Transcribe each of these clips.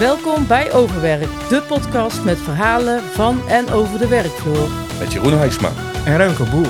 Welkom bij Overwerk, de podcast met verhalen van en over de werkvloer. Met Jeroen Huisma en Remco Boer.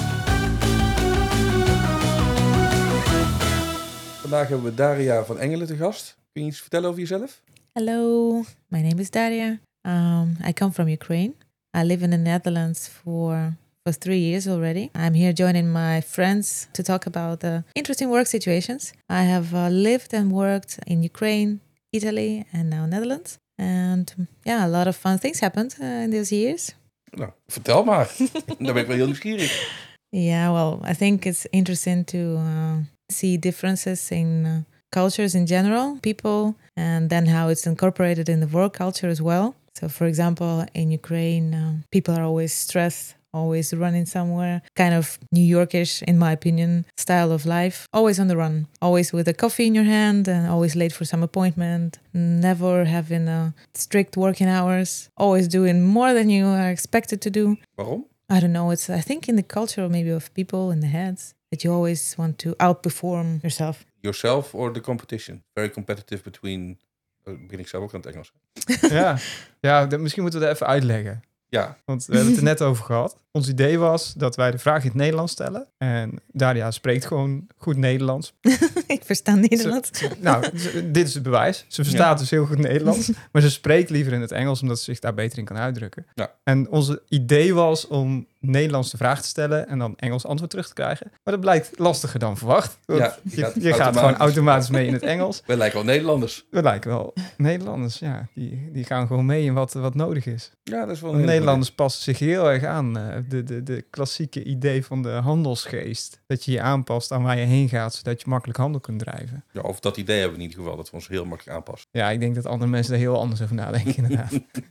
Vandaag hebben we Daria van Engelen te gast. Kun je iets vertellen over jezelf? Hello, my name is Daria. I come from Ukraine. I live in the Netherlands for 3 years already. I'm here joining my friends to talk about interesting work situations. I have lived and worked in Ukraine, Italy, and now Netherlands. And a lot of fun things happened in those years. Nou, vertel maar. Daar ben ik wel heel nieuwsgierig. Yeah, well, I think it's interesting to see differences in cultures in general, people, and then how it's incorporated in the work culture as well. So, for example, in Ukraine, people are always stressed, always running somewhere, kind of New Yorkish, in my opinion, style of life. Always on the run, always with a coffee in your hand and always late for some appointment, never having strict working hours, always doing more than you are expected to do. Waarom? I don't know. I think in the culture maybe of people in the heads that you always want to outperform yourself. Yourself or the competition? Very competitive between... begin ik zelf ook aan het Engels. Misschien moeten we dat even uitleggen. Ja. Want we hebben het er net over gehad. Ons idee was dat wij de vraag in het Nederlands stellen. En Daria spreekt gewoon goed Nederlands. Ik versta Nederlands. Dit is het bewijs. Ze verstaat dus heel goed Nederlands. Maar ze spreekt liever in het Engels, omdat ze zich daar beter in kan uitdrukken. Ja. En ons idee was om Nederlands de vraag te stellen en dan Engels antwoord terug te krijgen. Maar dat blijkt lastiger dan verwacht. Want je gaat gewoon automatisch mee in het Engels. We lijken wel Nederlanders. We lijken wel Nederlanders, ja. Die gaan gewoon mee in wat nodig is. Ja, dat is wel een Nederlanders passen zich heel erg aan. De klassieke idee van de handelsgeest. Dat je je aanpast aan waar je heen gaat, zodat je makkelijk handel kunt drijven. Ja, of dat idee hebben we in ieder geval, dat we ons heel makkelijk aanpassen. Ja, ik denk dat andere mensen daar heel anders over nadenken, inderdaad.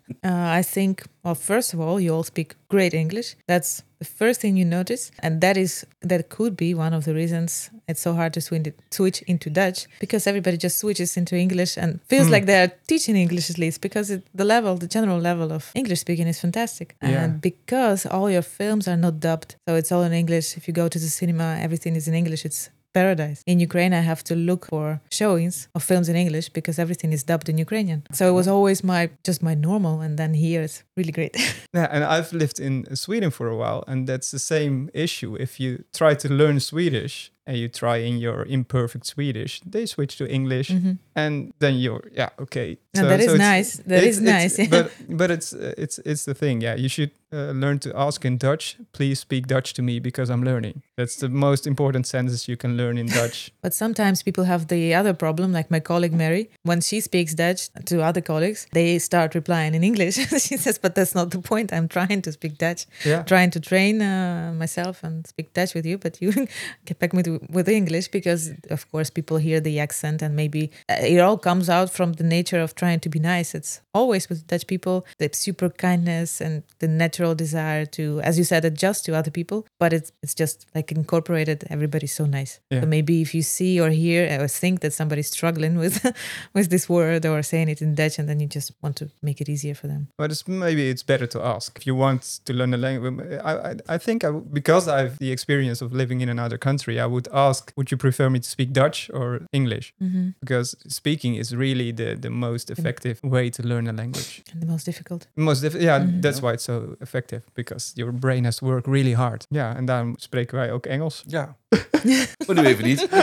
I think, well, first of all, you all speak great English. That's the first thing you notice. And that could be one of the reasons it's so hard to switch into Dutch. Because everybody just switches into English and feels like they're teaching English at least. Because the general level of English speaking is fantastic. Yeah. And because all your films are not dubbed. So it's all in English. If you go to the cinema, everything is in English. It's paradise. In Ukraine, I have to look for showings of films in English because everything is dubbed in Ukrainian. So it was always my normal, and then here it's really great. Yeah, and I've lived in Sweden for a while, and that's the same issue. If you try to learn Swedish and you try in your imperfect Swedish, they switch to English, and then you're okay. So that is nice. That is nice. But it's the thing. Yeah, you should learn to ask in Dutch. Please speak Dutch to me because I'm learning. That's the most important sentence you can learn in Dutch. But sometimes people have the other problem, like my colleague Mary. When she speaks Dutch to other colleagues, they start replying in English. She says, "But that's not the point. I'm trying to speak Dutch, trying to train myself and speak Dutch with you. But you get back with English because, of course, people hear the accent and maybe it all comes out from the nature of trying to be nice. It's always with Dutch people, the super kindness and the natural desire to, as you said, adjust to other people. But it's just like incorporated. Everybody's so nice. Yeah. So maybe if you see or hear or think that somebody's struggling with this word or saying it in Dutch, and then you just want to make it easier for them. But maybe it's better to ask. If you want to learn a language, I think because I have the experience of living in another country, I would ask, would you prefer me to speak Dutch or English? Mm-hmm. Because speaking is really the most effective way to learn a language. And the most difficult. That's why it's so effective. Because your brain has to work really hard. Ja, en daarom spreken wij ook Engels. Ja. Maar nu even niet.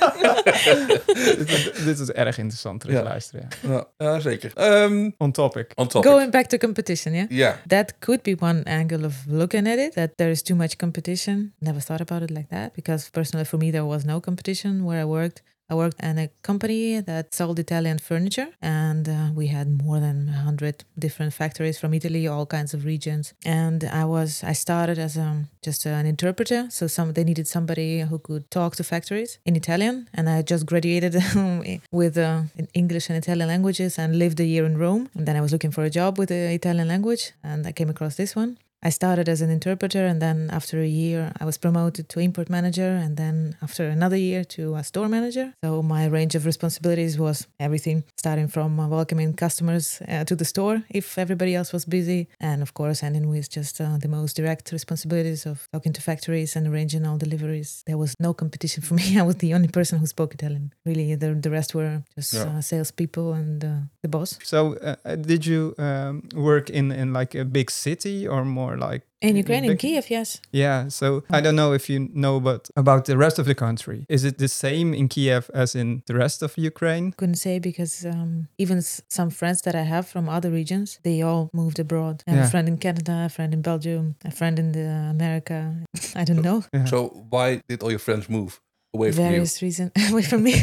Dit is erg interessant terug luisteren. Ja, zeker. On topic. Going back to competition, yeah? Yeah. That could be one angle of looking at it, that there is too much competition. Never thought about it like that, because personally for me there was no competition where I worked. I worked in a company that sold Italian furniture, and we had more than 100 different factories from Italy, all kinds of regions. And I started as just an interpreter, so they needed somebody who could talk to factories in Italian, and I just graduated with English and Italian languages and lived a year in Rome. And then I was looking for a job with the Italian language, and I came across this one. I started as an interpreter, and then after a year, I was promoted to import manager, and then after another year to a store manager. So my range of responsibilities was everything, starting from welcoming customers to the store if everybody else was busy, and of course ending with just the most direct responsibilities of talking to factories and arranging all deliveries. There was no competition for me. I was the only person who spoke Italian. Really, the rest were just salespeople and the boss. So did you work in like a big city or more like in Ukraine, in Kiev, yes. Yeah, so I don't know if you know about the rest of the country. Is it the same in Kiev as in the rest of Ukraine? Couldn't say, because even some friends that I have from other regions, they all moved abroad. I have a friend in Canada, a friend in Belgium, a friend in America. I don't know. Yeah. So why did all your friends move away from you? Various reasons away from me.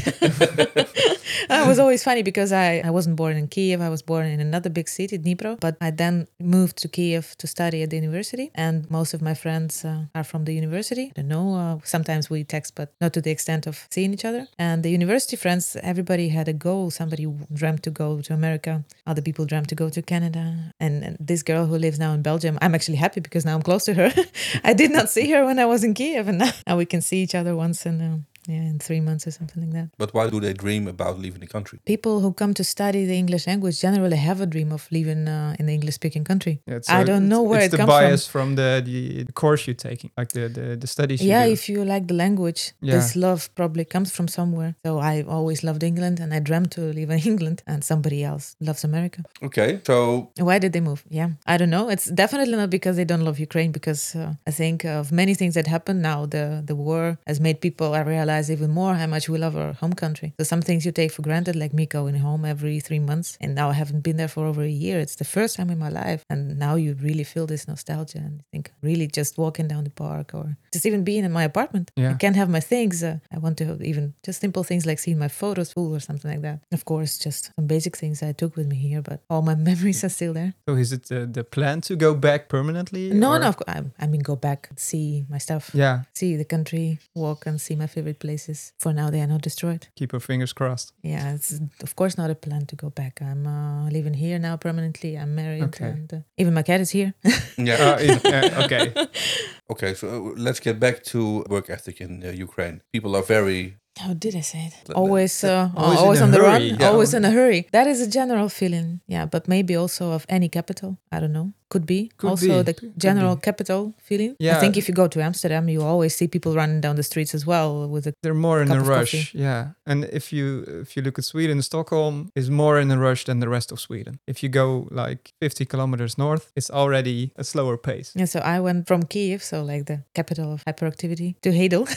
It was always funny because I wasn't born in Kiev. I was born in another big city, Dnipro. But I then moved to Kiev to study at the university. And most of my friends are from the university. I don't know. Sometimes we text, but not to the extent of seeing each other. And the university friends, everybody had a goal. Somebody dreamt to go to America. Other people dreamt to go to Canada. And this girl who lives now in Belgium, I'm actually happy because now I'm close to her. I did not see her when I was in Kiev. And now we can see each other once in 3 months or something like that. But why do they dream about leaving the country? People who come to study the English language generally have a dream of living in the English-speaking country. Yeah, I don't know where it comes from. It's the bias from the course you're taking, like the studies you do. Yeah, if you like the language, this love probably comes from somewhere. So I always loved England, and I dreamt to live in England, and somebody else loves America. Okay, so... Why did they move? Yeah, I don't know. It's definitely not because they don't love Ukraine, because I think of many things that happen now. The war has made people realize even more how much we love our home country. So some things you take for granted, like me going home every 3 months, and now I haven't been there for over a year. It's the first time in my life, and now you really feel this nostalgia, and I think really just walking down the park or just even being in my apartment. I can't have my things. I want to even just simple things like seeing my photos full or something like that. Of course, just some basic things I took with me here, but all my memories are still there. So is it the plan to go back permanently? No, I mean go back, see my stuff, see the country, walk and see my favorite places. For now, they are not destroyed. Keep our fingers crossed. Yeah, it's of course not a plan to go back. I'm living here now permanently. I'm married, and even my cat is here. Okay. Okay, so let's get back to work ethic in Ukraine. People are very... How did I say it? Always on the run, always in a hurry. That is a general feeling, but maybe also of any capital. I don't know. Could be. The general capital feeling. Yeah. I think if you go to Amsterdam, you always see people running down the streets as well with they're more in a rush. Coffee. Yeah. And if you look at Sweden, Stockholm is more in a rush than the rest of Sweden. If you go like 50 kilometers north, it's already a slower pace. Yeah, so I went from Kiev, so like the capital of hyperactivity, to Hedel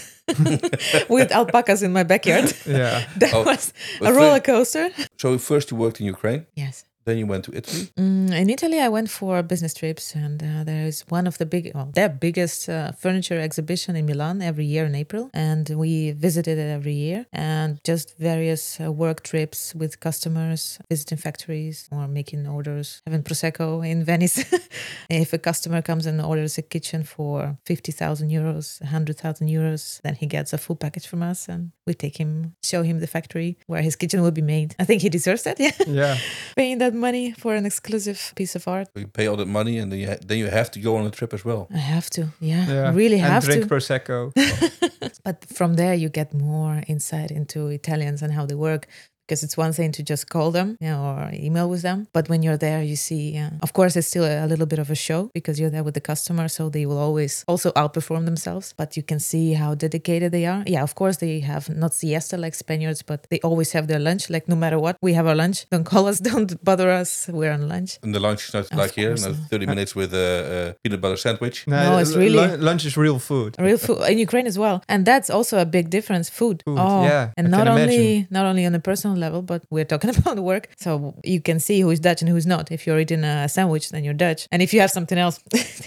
with alpacas in my backyard. Yeah. That was a roller coaster. So first you worked in Ukraine? Yes. Then you went to Italy? In Italy, I went for business trips, and there is one of their biggest furniture exhibition in Milan every year in April, and we visited it every year. And just various work trips with customers, visiting factories or making orders, having prosecco in Venice. If a customer comes and orders a kitchen for 50,000 euros, 100,000 euros, then he gets a full package from us, and we show him the factory where his kitchen will be made. I think he deserves that. Yeah. Paying that money for an exclusive piece of art. So you pay all that money, and then you have to go on a trip as well. I have to, I really have to. And drink prosecco. But from there, you get more insight into Italians and how they work. Because it's one thing to just call them or email with them. But when you're there, you see, of course, it's still a little bit of a show because you're there with the customer. So they will always also outperform themselves. But you can see how dedicated they are. Yeah, of course, they have not siesta like Spaniards, but they always have their lunch. Like no matter what, we have our lunch. Don't call us, don't bother us. We're on lunch. And the lunch is not like here, 30 minutes with a peanut butter sandwich. No, it's really... Lunch is real food. Real food in Ukraine as well. And that's also a big difference. Food. And not only on a personal level, but we're talking about work, so you can see who is Dutch and who's not. If you're eating a sandwich, then you're Dutch, and if you have something else,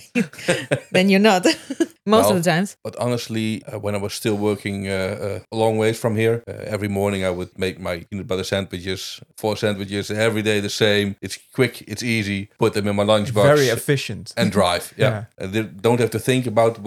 then you're not. Most of the times. But honestly, when I was still working a long ways from here, every morning I would make my peanut butter sandwiches, 4 sandwiches, every day the same. It's quick, it's easy. Put them in my lunchbox. Very efficient. And drive. Yeah. And they don't have to think about what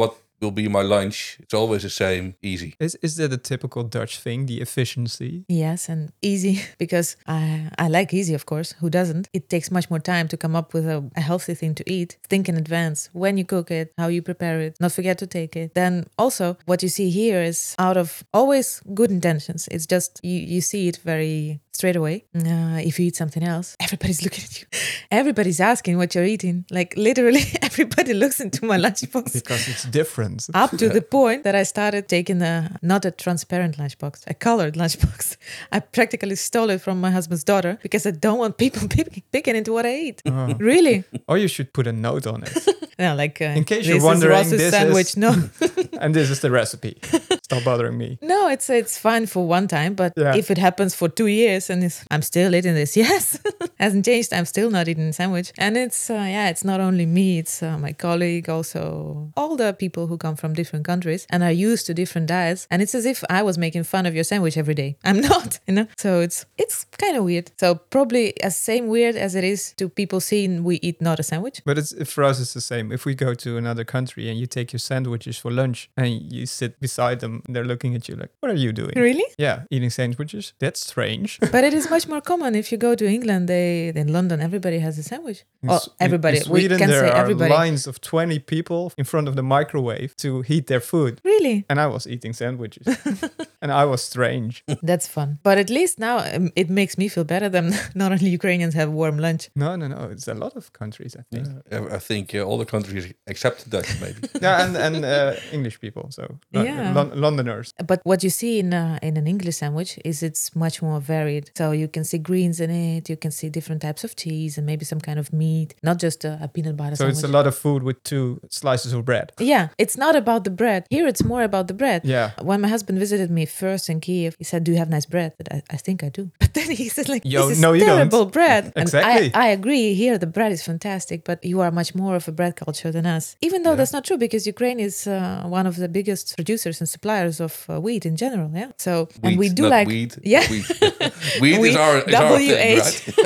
will be my lunch. It's always the same, easy. Is that a typical Dutch thing, the efficiency? Yes, and easy, because I like easy, of course. Who doesn't? It takes much more time to come up with a healthy thing to eat. Think in advance when you cook it, how you prepare it, not forget to take it. Then also what you see here is out of always good intentions. It's just you see it very straight away. If you eat something else, everybody's looking at you. Everybody's asking what you're eating. Like literally everybody looks into my lunchbox. Because it's different. Up to the point that I started taking not a transparent lunchbox, a colored lunchbox. I practically stole it from my husband's daughter because I don't want people picking into what I eat. Really? Or you should put a note on it. No, like in case you're wondering, this sandwich. is No, and this is the recipe. Stop bothering me. no, it's fine for one time, but Yeah. if it happens for 2 years and I'm still eating this, yes, hasn't changed. I'm still not eating a sandwich, and it's not only me. It's my colleague, also all the people who come from different countries and are used to different diets, and it's as if I was making fun of your sandwich every day. I'm not, So it's kind of weird. So probably as same weird as it is to people seeing we eat not a sandwich. But for us, it's the same. If we go to another country and you take your sandwiches for lunch and you sit beside them, they're looking at you like, what are you doing? Really? Yeah, eating sandwiches? That's strange. But it is much more common if you go to England. In London, everybody has a sandwich. In Everybody. In Sweden, we can there say are everybody. lines of 20 people in front of the microwave to heat their food. Really? And I was eating sandwiches. And I was strange. That's fun. But at least now it makes me feel better than not only Ukrainians have warm lunch. No. It's a lot of countries, I think. I think all the countries except Dutch, maybe. Yeah, and English people, so Londoners. But what you see in an English sandwich is it's much more varied. So you can see greens in it, you can see different types of cheese and maybe some kind of meat, not just a peanut butter So sandwich. it's a lot of food with 2 slices of bread. Yeah, it's not about the bread. Here it's more about the bread. Yeah. When my husband visited me first in Kiev, he said, do you have nice bread? But I think I do. But then he said, like, Yo, this is no, you terrible don't. bread. Exactly. And I agree. Here the bread is fantastic, but you are much more of a bread culture than us. Even though that's not true, because Ukraine is one of the biggest producers and suppliers of wheat in general. Yeah. So and we Wheat, do not like wheat. Yeah. Wheat is our thing, right?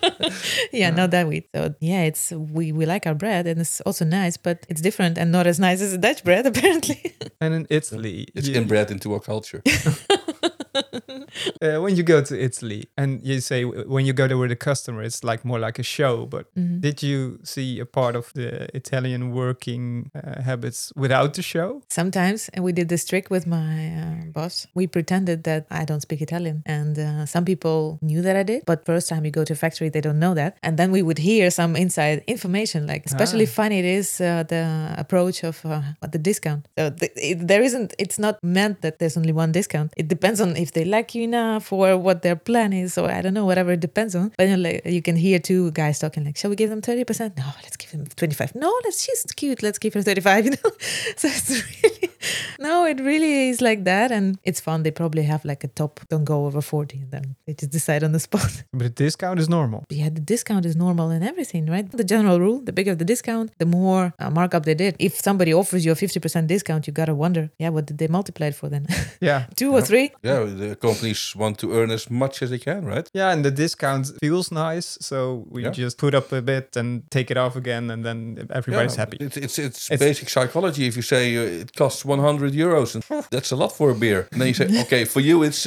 Yeah, not that wheat. So yeah, it's we like our bread and it's also nice, but it's different and not as nice as the Dutch bread apparently. And in Italy, It's inbred into our culture. when you go to Italy and you say when you go there with a customer, it's like more like a show. But did you see a part of the Italian working habits without the show? Sometimes, and we did this trick with my boss. We pretended that I don't speak Italian, and some people knew that I did. But first time you go to a factory, they don't know that, and then we would hear some inside information. Like especially funny it is the approach of the discount. So it's not meant that there's only one discount. It depends on if they like you enough or what their plan is, or I don't know, whatever it depends on. But you can hear 2 guys talking like, shall we give them 30%? No, let's give them 25. No, she's cute. Let's give her 35. So it's really, no, it really is like that, and it's fun. They probably have like a top, don't go over 40, and then they just decide on the spot. But the discount is normal. Yeah, the discount is normal in everything, right? The general rule: the bigger the discount, the more markup they did. If somebody offers you a 50% discount, you gotta wonder, what did they multiply it for then? Yeah. 2 or 3? Yeah, the companies want to earn as much as they can, right? Yeah, and the discount feels nice, so we just put up a bit and take it off again, and then everybody's happy. It's basic psychology. If you say it costs 100 euros, and that's a lot for a beer, and then you say, okay, for you it's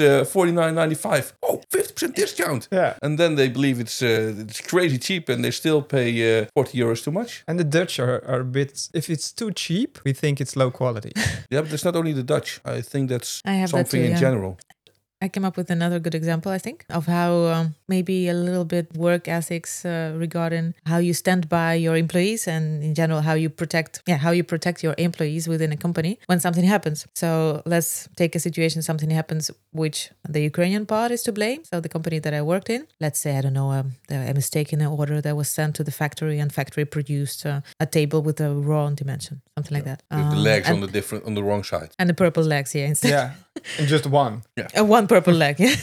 49.95. Oh, 50% discount. Yeah. And then they believe it's crazy cheap, and they still pay 40 euros too much. And the Dutch are a bit, if it's too cheap, we think it's low quality. Yeah, but it's not only the Dutch. I think that's I have that something too, in yeah. general. I came up with another good example, I think, of how maybe a little bit work ethics regarding how you stand by your employees and in general how you protect your employees within a company when something happens. So let's take a situation, something happens which the Ukrainian part is to blame. So the company that I worked in, let's say, I don't know, a mistake in an order that was sent to the factory and factory produced a table with a wrong dimension, something like that. With the legs on the wrong side. And the purple legs, instead. Yeah, and just one. One purple leg, yeah.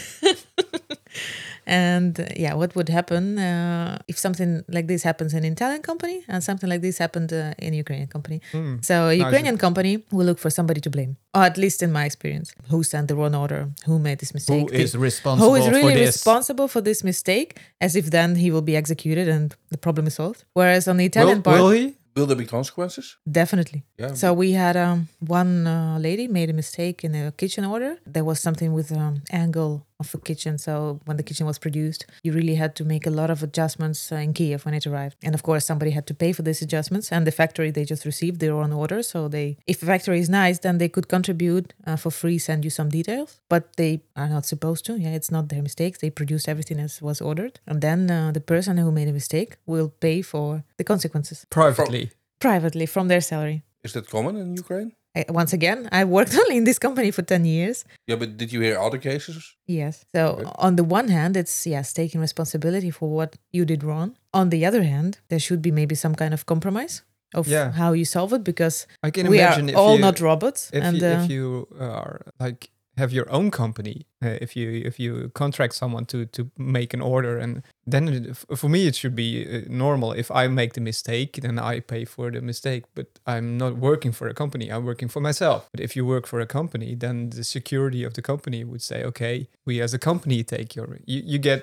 And what would happen if something like this happens in an Italian company and something like this happened in a Ukrainian company? So a Ukrainian company will look for somebody to blame, or at least in my experience. Who sent the wrong order? Who made this mistake? Who is responsible Who is really for this? responsible for this mistake? As if then he will be executed and the problem is solved. Whereas on the Italian part... Will he? Will there be consequences? Definitely. Yeah. So we had one lady made a mistake in a kitchen order. There was something with angle of the kitchen. So when the kitchen was produced, you really had to make a lot of adjustments in Kiev when it arrived. And of course, somebody had to pay for these adjustments. And the factory, they just received their own order. So if the factory is nice, then they could contribute for free, send you some details. But they are not supposed to. Yeah, it's not their mistakes. They produced everything as was ordered. And then the person who made a mistake will pay for the consequences. Privately from their salary. Is that common in Ukraine? Once again, I worked only in this company for 10 years. Yeah, but did you hear other cases? Yes. So on the one hand, it's, taking responsibility for what you did wrong. On the other hand, there should be maybe some kind of compromise of how you solve it, because I can we imagine are all not robots. If you are like have your own company, if you contract someone to make an order, and then for me it should be normal. If I make the mistake, then I pay for the mistake, but I'm not working for a company, I'm working for myself. But if you work for a company, then the security of the company would say, okay, we as a company take you get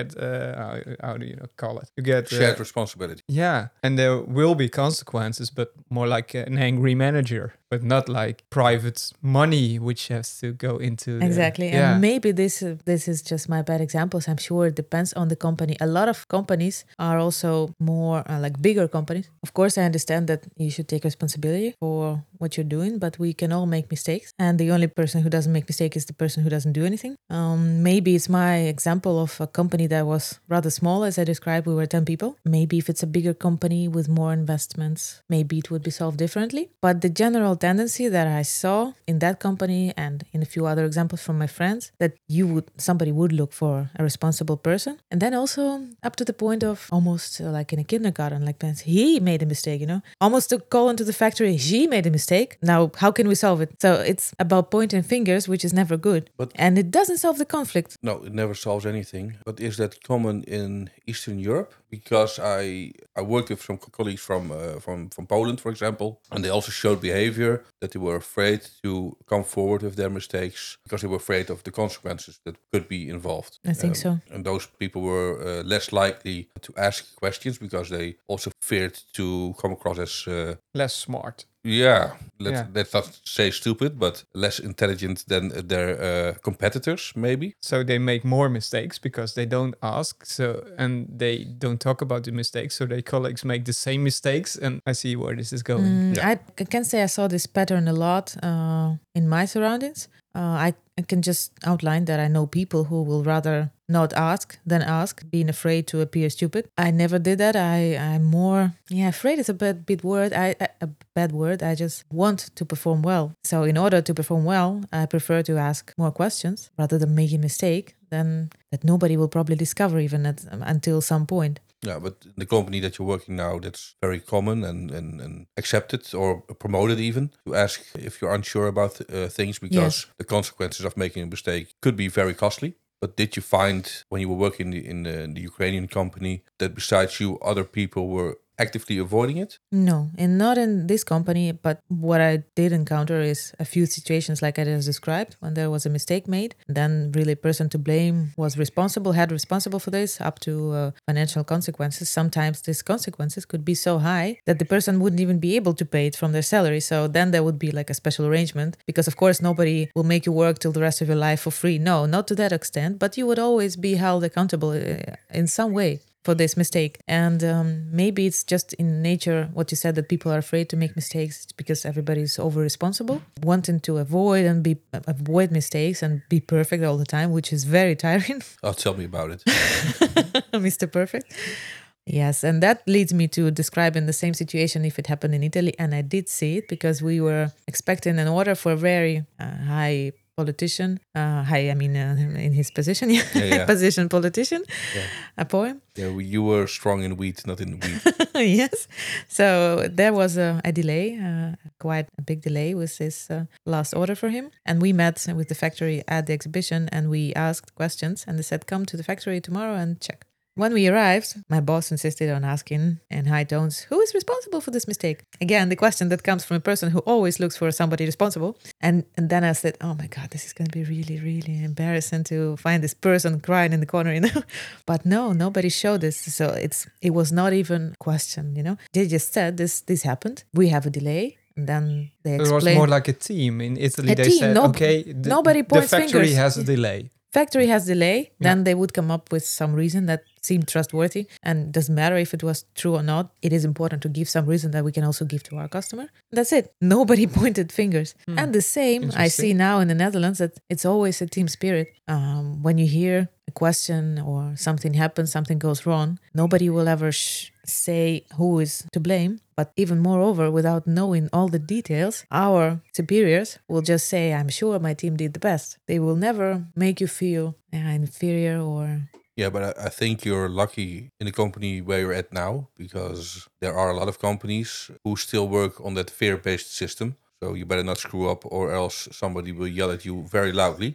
how do you call it, you get shared responsibility. Yeah, and there will be consequences, but more like an angry manager, but not like private money which has to go into exactly. And maybe this is just my bad examples. I'm sure it depends on the company. A lot of companies are also more like bigger companies. Of course, I understand that you should take responsibility for what you're doing, but we can all make mistakes. And the only person who doesn't make mistake is the person who doesn't do anything. Maybe it's my example of a company that was rather small. As I described, we were 10 people. Maybe if it's a bigger company with more investments, maybe it would be solved differently. But the general tendency that I saw in that company and in a few other examples from my friends, that somebody would look for a responsible person. And then also up to the point of almost like in a kindergarten, like he made a mistake, almost to call into the factory, she made a mistake. Now, how can we solve it? So it's about pointing fingers, which is never good. And it doesn't solve the conflict. No, it never solves anything. But is that common in Eastern Europe? Because I worked with some colleagues from Poland, for example, and they also showed behavior that they were afraid to come forward with their mistakes because they were afraid of the consequences that could be involved. I think so. And those people were less likely to ask questions because they also feared to come across as less smart. Yeah, let's not say stupid, but less intelligent than their competitors, maybe. So they make more mistakes because they don't ask, and they don't talk about the mistakes, so their colleagues make the same mistakes, and I see where this is going. I can say I saw this pattern a lot in my surroundings. I can just outline that I know people who will rather not ask than ask, being afraid to appear stupid. I never did that. I'm more, afraid is a bad word. A bad word. I just want to perform well. So in order to perform well, I prefer to ask more questions rather than make a mistake then that nobody will probably discover even until some point. Yeah, but the company that you're working now, that's very common and accepted or promoted even, to ask if you're unsure about things because the consequences of making a mistake could be very costly. But did you find when you were working in the Ukrainian company that besides you, other people were actively avoiding it? No, and not in this company, but what I did encounter is a few situations like I just described, when there was a mistake made, then really person to blame was responsible for this, up to financial consequences. Sometimes these consequences could be so high that the person wouldn't even be able to pay it from their salary. So then there would be like a special arrangement, because of course nobody will make you work till the rest of your life for free. No, not to that extent, but you would always be held accountable in some way for this mistake. And maybe it's just in nature what you said, that people are afraid to make mistakes because everybody's over responsible, wanting to avoid mistakes and be perfect all the time, which is very tiring. Oh, tell me about it. Mr. Perfect. Yes, and that leads me to describing the same situation if it happened in Italy, and I did see it because we were expecting an order for a very high politician, in his position, position politician, a poem. Yeah, you were strong in wheat, not in wheat. Yes. So there was a delay, quite a big delay with this last order for him. And we met with the factory at the exhibition and we asked questions and they said, come to the factory tomorrow and check. When we arrived, my boss insisted on asking in high tones, who is responsible for this mistake? Again, the question that comes from a person who always looks for somebody responsible. And then I said, oh my God, this is going to be really, really embarrassing to find this person crying in the corner, But no, nobody showed this. So it was not even a question, They just said this happened. We have a delay. And then they explained. It was more like a team. In Italy, they said, nobody points the factory fingers. has a delay. Factory has delay, then they would come up with some reason that seemed trustworthy, and it doesn't matter if it was true or not. It is important to give some reason that we can also give to our customer. That's it. Nobody pointed fingers. And the same I see now in the Netherlands, that it's always a team spirit. When you hear a question or something happens, something goes wrong, nobody will ever say who is to blame. But even moreover, without knowing all the details, our superiors will just say, I'm sure my team did the best. They will never make you feel inferior or... Yeah, but I think you're lucky in the company where you're at now, because there are a lot of companies who still work on that fear-based system. So you better not screw up, or else somebody will yell at you very loudly.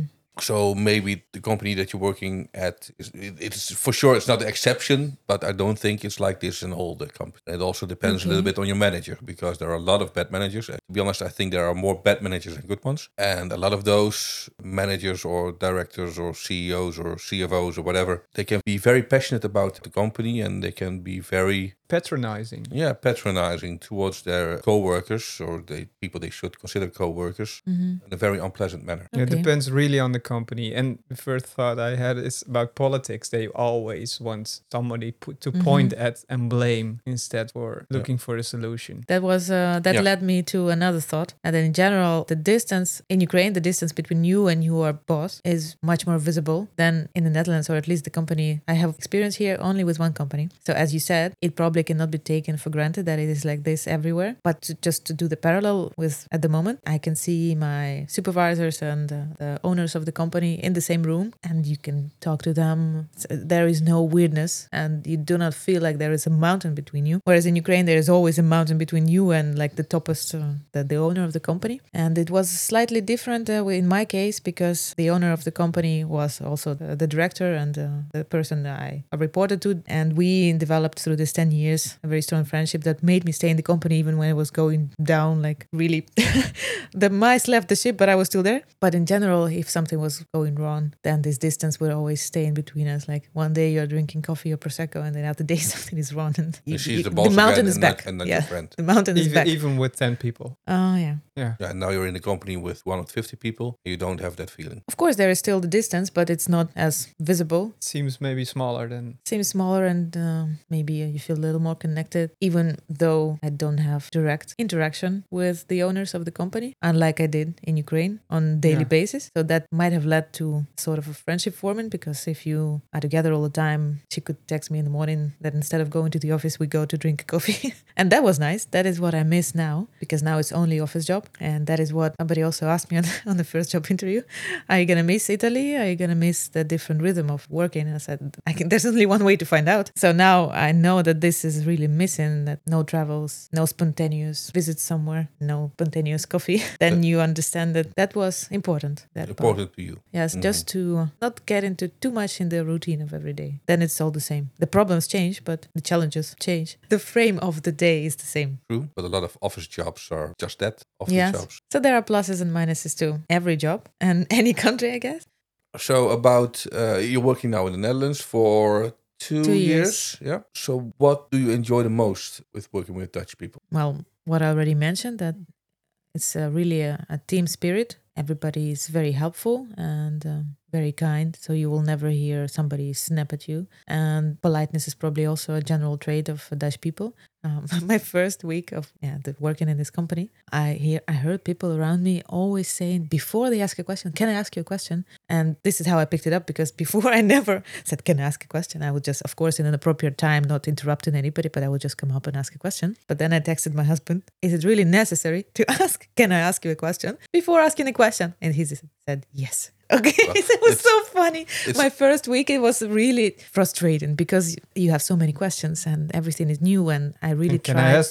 So maybe the company that you're working at, it's for sure it's not the exception, but I don't think it's like this in all the companies. It also depends a little bit on your manager, because there are a lot of bad managers. To be honest, I think there are more bad managers than good ones. And a lot of those managers or directors or CEOs or CFOs or whatever, they can be very passionate about the company, and they can be very... patronizing. Yeah, patronizing towards their co-workers, or the people they should consider co-workers, in a very unpleasant manner. It depends really on the company. And the first thought I had is about politics. They always want somebody to point at and blame instead for looking for a solution. That was led me to another thought. And then in general, the distance in Ukraine, the distance between you and your boss is much more visible than in the Netherlands, or at least the company I have experience here only with one company. So as you said, it probably cannot be taken for granted that it is like this everywhere. But just to do the parallel with at the moment, I can see my supervisors and the owners of the company in the same room, and you can talk to them. There is no weirdness, and you do not feel like there is a mountain between you. Whereas in Ukraine, there is always a mountain between you and like the toppest, the owner of the company. And it was slightly different in my case, because the owner of the company was also the director and the person I reported to. And we developed through this 10 years a very strong friendship that made me stay in the company even when it was going down, like really the mice left the ship, but I was still there. But in general, if something was going wrong, then this distance would always stay in between us. Like one day you're drinking coffee or Prosecco, and then other day something is wrong, and the mountain is back. And not your friend. The mountain is back. Even with 10 people. Oh, yeah. Yeah, now you're in a company with 150 people. You don't have that feeling. Of course, there is still the distance, but it's not as visible. Seems maybe smaller than... Seems smaller, and maybe you feel a little more connected, even though I don't have direct interaction with the owners of the company, unlike I did in Ukraine on daily basis. So that might have led to sort of a friendship forming, because if you are together all the time, she could text me in the morning that instead of going to the office, we go to drink a coffee. And that was nice. That is what I miss now, because now it's only office job. And that is what somebody also asked me on the first job interview. Are you going to miss Italy? Are you going to miss the different rhythm of working? And I said, there's only one way to find out. So now I know that this is really missing, that no travels, no spontaneous visits somewhere, no spontaneous coffee. Then you understand that that was important. Important to you. Yes, just to not get into too much in the routine of every day. Then it's all the same. The problems change, but the challenges change. The frame of the day is the same. True, but a lot of office jobs are just that, office jobs. So there are pluses and minuses to every job and any country, I guess. So about, you're working now in the Netherlands for 2 years. Yeah. So what do you enjoy the most with working with Dutch people? Well, what I already mentioned, that it's really a team spirit. Everybody is very helpful and very kind. So you will never hear somebody snap at you. And politeness is probably also a general trait of Dutch people. My first week of working in this company, I heard people around me always saying, before they ask a question, can I ask you a question? And this is how I picked it up, because before I never said, can I ask a question? I would just, of course, in an appropriate time, not interrupting anybody, but I would just come up and ask a question. But then I texted my husband, is it really necessary to ask, can I ask you a question before asking a question? And he said, yes. Okay, well, it was so funny. My first week, it was really frustrating because you have so many questions and everything is new, and I really tried. Can I ask them?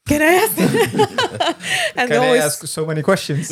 Can I ask? And Can I ask so many questions?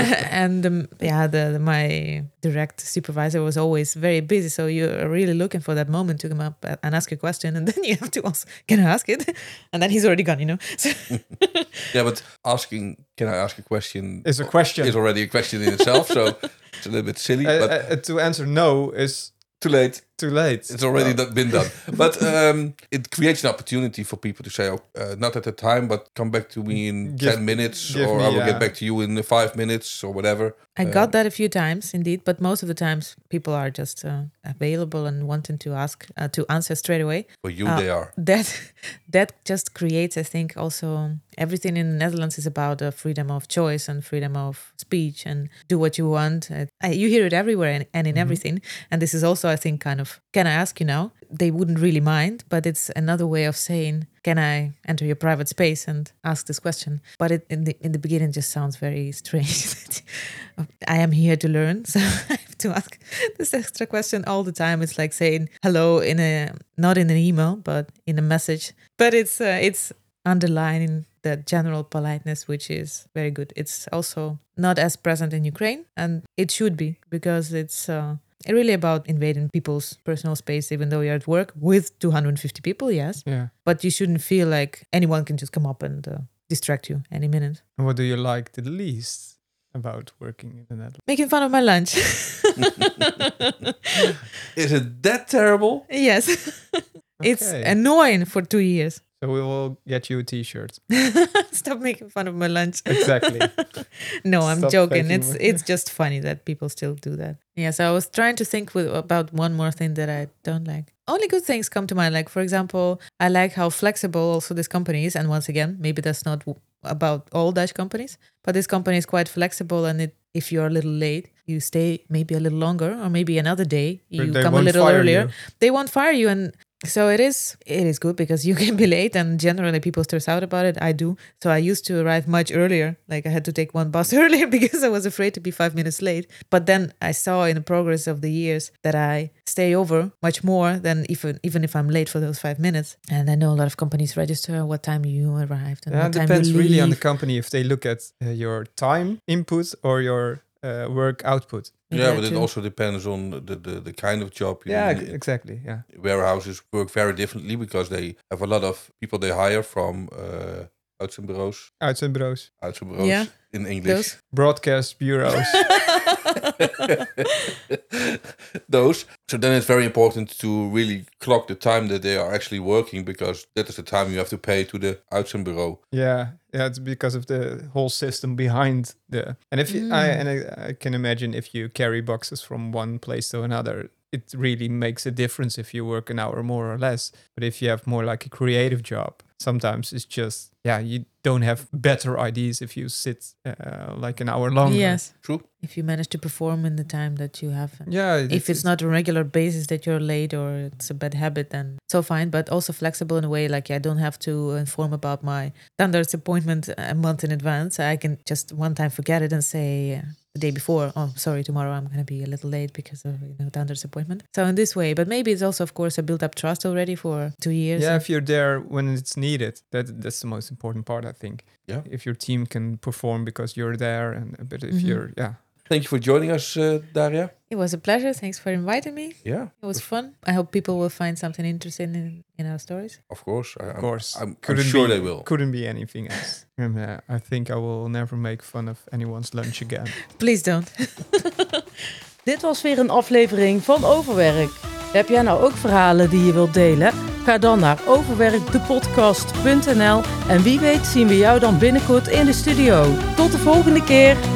My direct supervisor was always very busy, so you're really looking for that moment to come up and ask a question, and then you have to ask, can I ask it? And then he's already gone, So Yeah, but asking, can I ask a question? Is a question. Is already a question in itself, so it's a little bit silly. But To answer no is too late. too late. It's already been done. But it creates an opportunity for people to say, not at the time, but come back to me in 10 minutes, or I will get back to you in 5 minutes, or whatever. I got that a few times, indeed, but most of the times people are just available and wanting to ask to answer straight away. For you, they are. That just creates, I think, also everything in the Netherlands is about freedom of choice and freedom of speech and do what you want. You hear it everywhere and in everything. And this is also, I think, kind of, can I ask you now? They wouldn't really mind, but it's another way of saying, can I enter your private space and ask this question? But in the beginning just sounds very strange. I am here to learn, so I have to ask this extra question all the time. It's like saying hello not in an email, but in a message. But it's underlining the general politeness, which is very good. It's also not as present in Ukraine, and it should be, because it's really about invading people's personal space, even though you're at work with 250 people, yes. Yeah. But you shouldn't feel like anyone can just come up and distract you any minute. And what do you like the least about working in the Netherlands? Making fun of my lunch. Is it that terrible? Yes. It's annoying for 2 years. So we will get you a t-shirt. Stop making fun of my lunch. Exactly. No, I'm Stop joking. faking It's just funny that people still do that. Yeah, so I was trying to think about one more thing that I don't like. Only good things come to mind. Like, for example, I like how flexible also this company is. And once again, maybe that's not about all Dutch companies, but this company is quite flexible. And if you're a little late, you stay maybe a little longer, or maybe another day you come a little earlier. They won't fire you. And so it is good, because you can be late, and generally people stress out about it. I do. So I used to arrive much earlier. Like, I had to take one bus earlier because I was afraid to be 5 minutes late. But then I saw in the progress of the years that I stay over much more than even if I'm late for those 5 minutes. And I know a lot of companies register what time you arrived and what time you leave. It depends really on the company if they look at your time input or your work output. Yeah, but it also depends on the kind of job. Exactly. Yeah, warehouses work very differently because they have a lot of people they hire from uitzendbureaus. Uitzendbureaus. Yeah, in English. Those. Broadcast bureaus. Those. So then it's very important to really clock the time that they are actually working, because that is the time you have to pay to the uitzendbureau. Yeah, it's because of the whole system behind the. And if I can imagine if you carry boxes from one place to another, it really makes a difference if you work an hour more or less. But if you have more like a creative job, sometimes it's just you don't have better ideas if you sit like an hour longer. Yes, true. If you manage to perform in the time that you have. Yeah. If it's not a regular basis that you're late or it's a bad habit, then so fine. But also flexible in a way, like I don't have to inform about my standards appointment a month in advance. I can just one time forget it and say the day before, oh, sorry, tomorrow I'm going to be a little late because of standards appointment. So in this way, but maybe it's also, of course, a built-up trust already for 2 years. Yeah, if you're there when it's needed, that's the most important part, I think. Yeah. If your team can perform because you're there, but if you're, Thank you for joining us, Daria. It was a pleasure. Thanks for inviting me. Yeah. It was fun. I hope people will find something interesting in our stories. Of course. I'm sure they will. Couldn't be anything else. And I think I will never make fun of anyone's lunch again. Please don't. Dit was weer een aflevering van Overwerk. Heb jij nou ook verhalen die je wilt delen? Ga dan naar overwerkdepodcast.nl en wie weet zien we jou dan binnenkort in de studio. Tot de volgende keer!